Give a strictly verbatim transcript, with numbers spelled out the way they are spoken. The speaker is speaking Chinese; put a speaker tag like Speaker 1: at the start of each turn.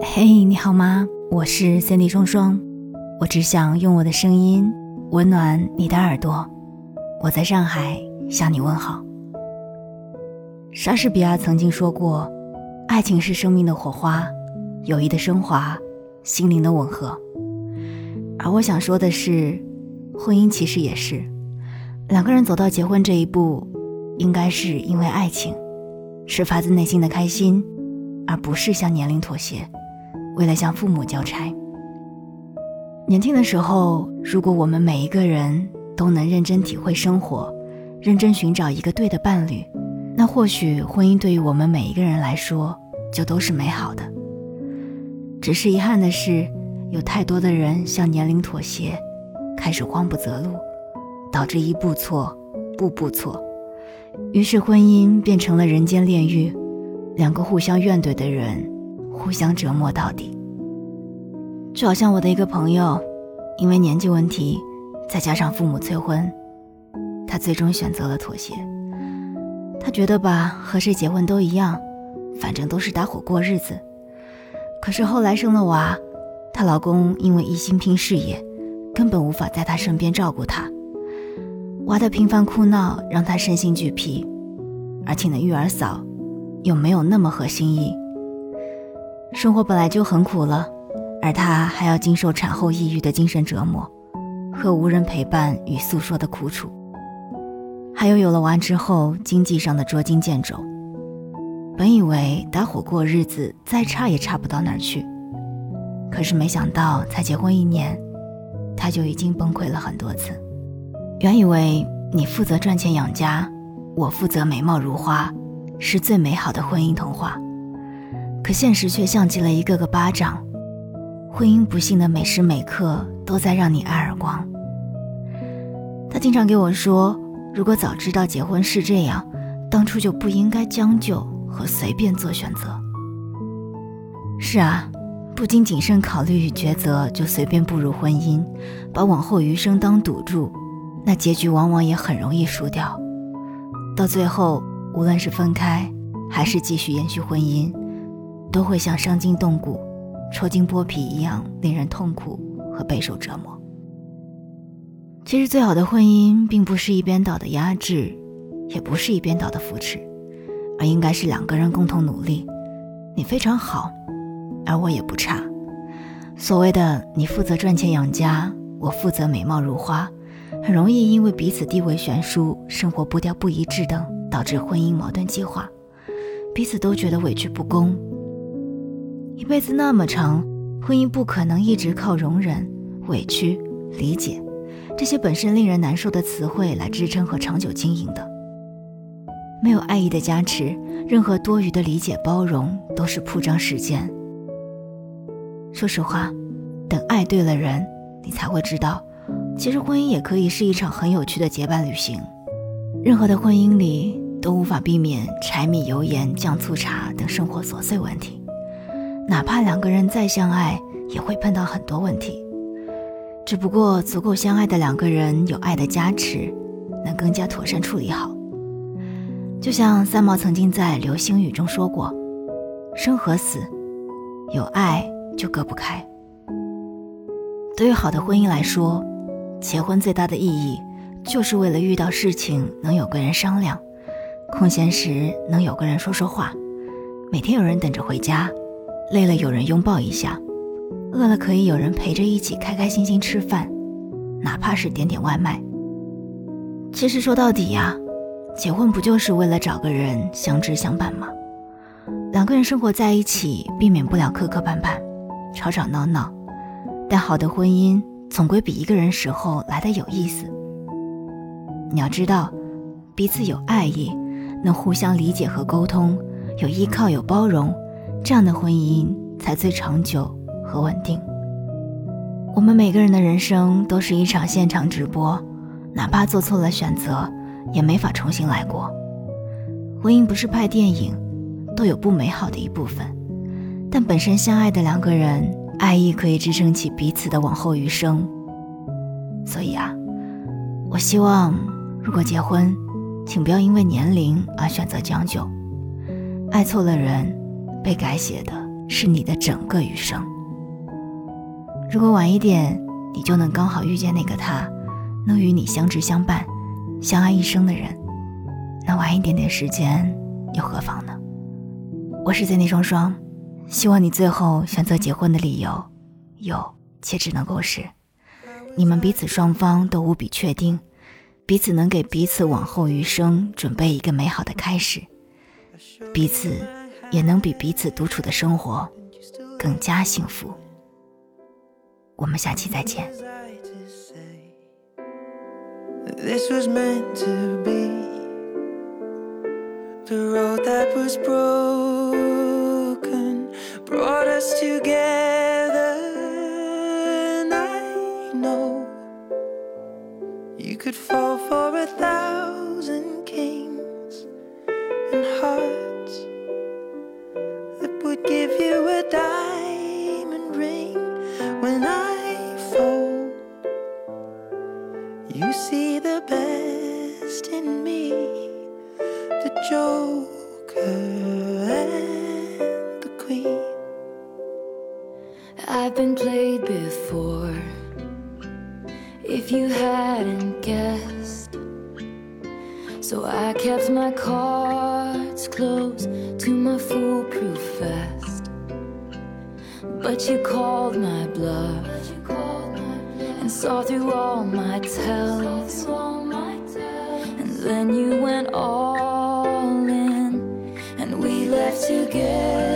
Speaker 1: 嘿、hey, 你好吗？我是 Cindy 双双，我只想用我的声音温暖你的耳朵。我在上海向你问好。莎士比亚曾经说过，爱情是生命的火花，友谊的升华，心灵的吻合。而我想说的是，婚姻其实也是，两个人走到结婚这一步，应该是因为爱情，是发自内心的开心，而不是向年龄妥协，为了向父母交差。年轻的时候，如果我们每一个人都能认真体会生活，认真寻找一个对的伴侣，那或许婚姻对于我们每一个人来说就都是美好的。只是遗憾的是，有太多的人向年龄妥协，开始慌不择路，导致一步错步步错，于是婚姻变成了人间炼狱，两个互相怨怼的人互相折磨到底。就好像我的一个朋友，因为年纪问题，再加上父母催婚，他最终选择了妥协。他觉得吧，和谁结婚都一样，反正都是搭伙过日子。可是后来生了娃，她老公因为一心拼事业，根本无法在她身边照顾她。娃的频繁哭闹让她身心俱疲，而请的育儿嫂又没有那么合心意。生活本来就很苦了，而她还要经受产后抑郁的精神折磨和无人陪伴与诉说的苦楚，还有有了娃之后经济上的捉襟见肘。本以为搭伙过日子再差也差不到哪儿去，可是没想到才结婚一年，她就已经崩溃了很多次。原以为你负责赚钱养家，我负责美貌如花，是最美好的婚姻童话，可现实却像极了一个个巴掌，婚姻不幸的每时每刻都在让你挨耳光。他经常给我说，如果早知道结婚是这样，当初就不应该将就和随便做选择。是啊，不经谨慎考虑与抉择就随便步入婚姻，把往后余生当赌注，那结局往往也很容易输掉。到最后，无论是分开还是继续延续婚姻，都会像伤筋动骨抽筋剥皮一样令人痛苦和备受折磨。其实最好的婚姻并不是一边倒的压制，也不是一边倒的扶持，而应该是两个人共同努力。你非常好，而我也不差。所谓的你负责赚钱养家，我负责美貌如花，很容易因为彼此地位悬殊，生活步调不一致等，导致婚姻矛盾激化，彼此都觉得委屈不公。一辈子那么长，婚姻不可能一直靠容忍、委屈、理解这些本身令人难受的词汇来支撑和长久经营的。没有爱意的加持，任何多余的理解包容都是铺张时间。说实话，等爱对了人，你才会知道，其实婚姻也可以是一场很有趣的结伴旅行。任何的婚姻里都无法避免柴米油盐酱醋茶等生活琐碎问题，哪怕两个人再相爱，也会碰到很多问题。只不过足够相爱的两个人有爱的加持，能更加妥善处理好。就像三毛曾经在《流星雨》中说过，生和死，有爱就隔不开。对于好的婚姻来说，结婚最大的意义就是为了遇到事情能有个人商量，空闲时能有个人说说话，每天有人等着回家，累了有人拥抱一下，饿了可以有人陪着一起开开心心吃饭，哪怕是点点外卖。其实说到底呀，结婚不就是为了找个人相知相伴吗？两个人生活在一起，避免不了磕磕绊绊、吵吵闹闹，但好的婚姻总归比一个人时候来得有意思。你要知道，彼此有爱意，能互相理解和沟通，有依靠有包容，这样的婚姻才最长久和稳定。我们每个人的人生都是一场现场直播，哪怕做错了选择，也没法重新来过。婚姻不是拍电影，都有不美好的一部分，但本身相爱的两个人，爱意可以支撑起彼此的往后余生。所以啊，我希望如果结婚，请不要因为年龄而选择将就。爱错了人，被改写的是你的整个余生。如果晚一点，你就能刚好遇见那个他，能与你相知相伴，相爱一生的人，那晚一点点时间又何妨呢？我是Cindy双双，希望你最后选择结婚的理由有且只能够是你们彼此双方都无比确定，彼此能给彼此往后余生准备一个美好的开始，彼此也能比彼此独处的生活更加幸福。我们下期再见。
Speaker 2: This was meant to be the road that was broken brought us together, and I know you could fall for a thousand kings and hearts that would give you a diamond ring. When I fall, you see the best in me, the Joker and the Queen.
Speaker 3: I've been played before, if you hadn't guessed, so I kept my cards close to my foolproof vest. But you called my bluff and saw through all my tells, and then you went all in, and we left together